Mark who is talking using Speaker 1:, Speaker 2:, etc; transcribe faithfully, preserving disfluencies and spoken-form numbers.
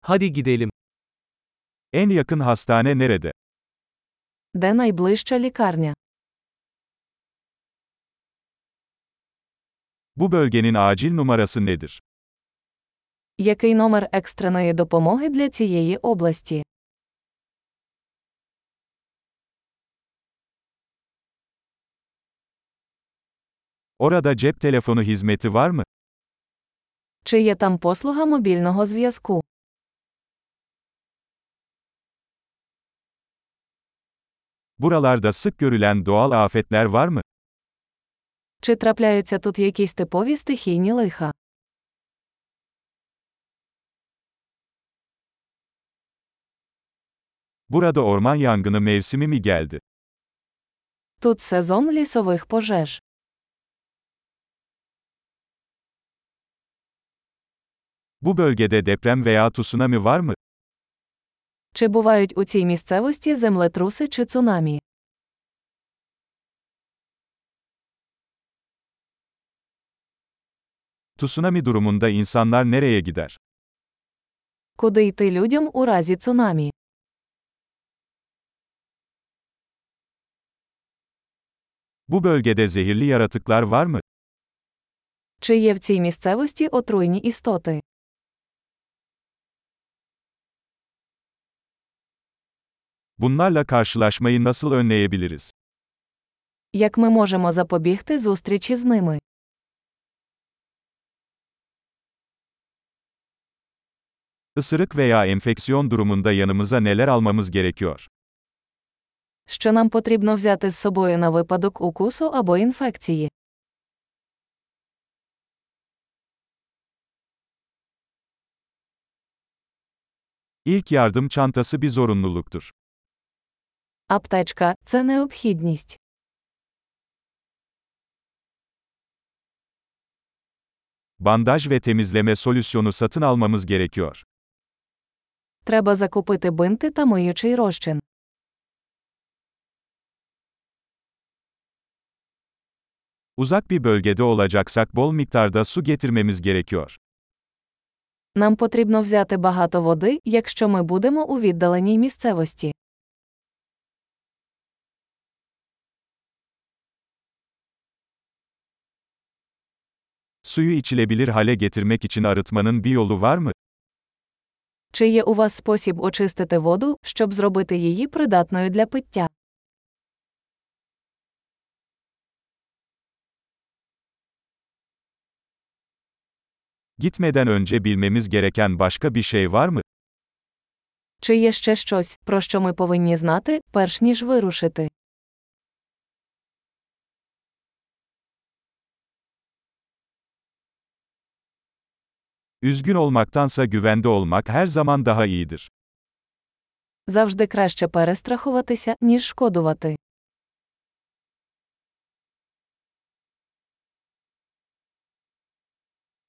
Speaker 1: Hadi gidelim.
Speaker 2: En yakın hastane nerede?
Speaker 3: Де найближча лікарня?
Speaker 2: Bu bölgenin acil numarası nedir?
Speaker 3: Який номер екстреної допомоги для цієї області?
Speaker 2: Orada cep telefonu hizmeti var mı?
Speaker 3: Чи є там послуга мобільного зв'язку?
Speaker 2: Buralarda sık görülen doğal afetler var mı?
Speaker 3: Чи трапляються тут якісь типові стихійні лиха?
Speaker 2: Burada orman yangını mevsimi mi geldi?
Speaker 3: Тут сезон лісових пожеж.
Speaker 2: Bu bölgede deprem veya tsunami var mı?
Speaker 3: Чи бувають у цій місцевості землетруси чи цунамі?
Speaker 2: Tsunami durumunda insanlar nereye gider?
Speaker 3: Куди йти людям у разі цунамі?
Speaker 2: Bu bölgede zehirli yaratıklar var mı?
Speaker 3: Чи є в цій місцевості отруйні істоти?
Speaker 2: Bunlarla karşılaşmayı nasıl önleyebiliriz?
Speaker 3: Як ми можемо запобігти зустрічі з ними?
Speaker 2: Isırık veya enfeksiyon durumunda yanımıza neler almamız gerekiyor?
Speaker 3: Що нам потрібно взяти з собою на випадок укусу або інфекції?
Speaker 2: İlk yardım çantası bir zorunluluktur.
Speaker 3: Аптечка – це необхідність.
Speaker 2: Bandaj ve temizleme solüsyonu satın almamız gerekiyor.
Speaker 3: Треба закупити бинти та миючий розчин.
Speaker 2: Uzak bir bölgede olacaksak bol miktarda su getirmemiz gerekiyor.
Speaker 3: Нам потрібно взяти багато води, якщо ми будемо у віддаленій місцевості.
Speaker 2: Suyu içilebilir hale getirmek için arıtmanın bir yolu var mı?
Speaker 3: Чи є у вас спосіб очистити воду, щоб зробити її придатною для пиття?
Speaker 2: Gitmeden önce bilmemiz gereken başka bir şey var mı?
Speaker 3: Чи є ще щось, про що ми повинні знати, перш ніж вирушити?
Speaker 2: Üzgün olmaktansa güvende olmak her zaman daha iyidir.
Speaker 3: Завжди краще перестрахуватися, ніж шкодувати.